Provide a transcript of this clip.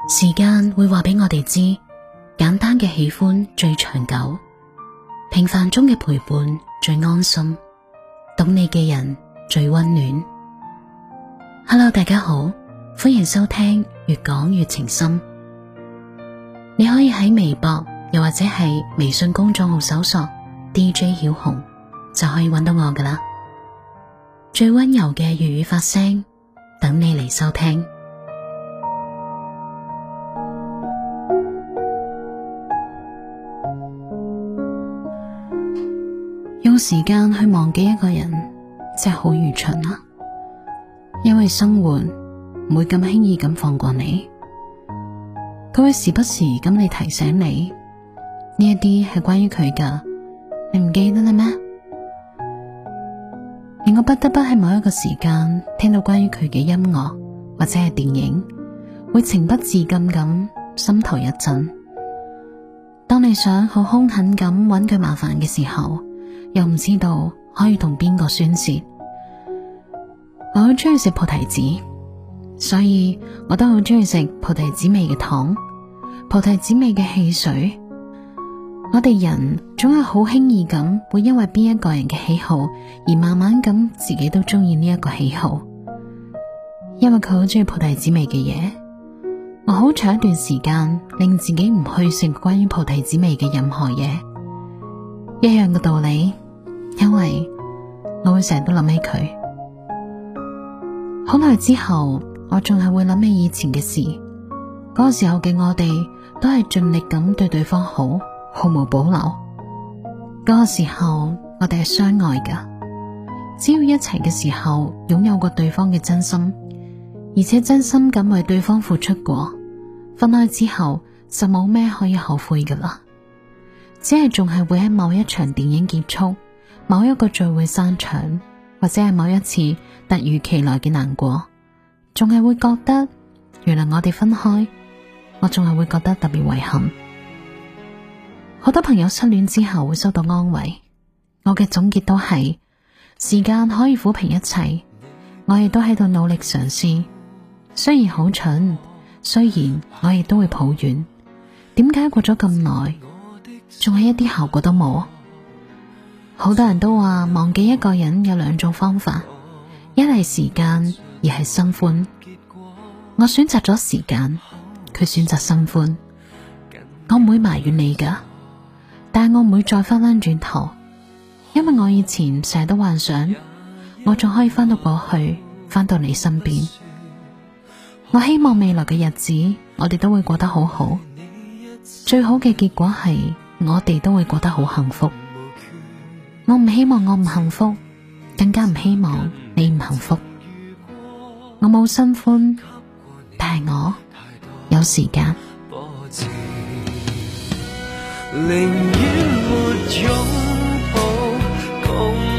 時間會話俾我哋知，簡單嘅喜歡最長久，平凡中嘅陪伴最安心，懂你嘅人最溫暖。Hello， 大家好，歡迎收聽越講越情深。你可以喺微博又或者係微信公眾號搜索 DJ 曉紅，就可以揾到我㗎喇。最溫柔嘅粵語發聲，等你嚟收聽。用時間去忘記一個人，真係好愚蠢啊！因為生活唔會咁輕易咁放過你，佢會時不時咁嚟提醒你，呢一啲係關於佢噶，你唔記得啦咩？令我不得不喺某一個時間聽到關於佢嘅音樂或者係電影，會情不自禁咁心頭一震。當你想好兇狠咁揾佢麻煩嘅時候，又唔知道可以同邊個宣洩。我好中意食菩提子，所以我都好中意食菩提子味嘅糖，菩提子味嘅汽水。我哋人總係好輕易咁會因為邊一個人嘅喜好而慢慢咁自己都中意呢一個喜好。因為佢好中意菩提子味嘅嘢，我好長一段時間令自己唔去食關於菩提子味嘅任何嘢。一樣嘅道理，因為我會成日都諗起佢。好耐之後，我仲係會諗起以前嘅事。嗰個時候嘅我哋都係盡力咁對對方好，毫無保留。嗰個時候我哋係相愛噶，只要一齊嘅時候擁有過對方嘅真心，而且真心咁為對方付出過，分開之後就冇咩可以後悔噶啦。只係仲係會喺某一場電影結束，某一個聚會散場，或者係某一次突如其來嘅難過，仲係會覺得原來我哋分開，我仲係會覺得特別遺憾。好多朋友失戀之後會收到安慰，我嘅總結都係時間可以撫平一切，我亦都喺度努力嘗試。雖然好蠢，雖然我亦都會抱怨，點解過咗咁耐仲係一啲效果都冇？好多人都話忘記一個人有兩種方法，一係時間，二係新歡。我選擇咗時間，佢選擇新歡。我唔會埋怨你噶，但係我唔會再翻返轉頭，因為我以前成日都幻想我仲可以翻到過去，翻到你身邊。我希望未來嘅日子我哋都會過得好好，最好嘅結果係我哋都會過得好幸福。我唔希望我唔幸福，更加唔希望你唔幸福。我冇新歡，但係我有時間。 寧願沒擁抱，共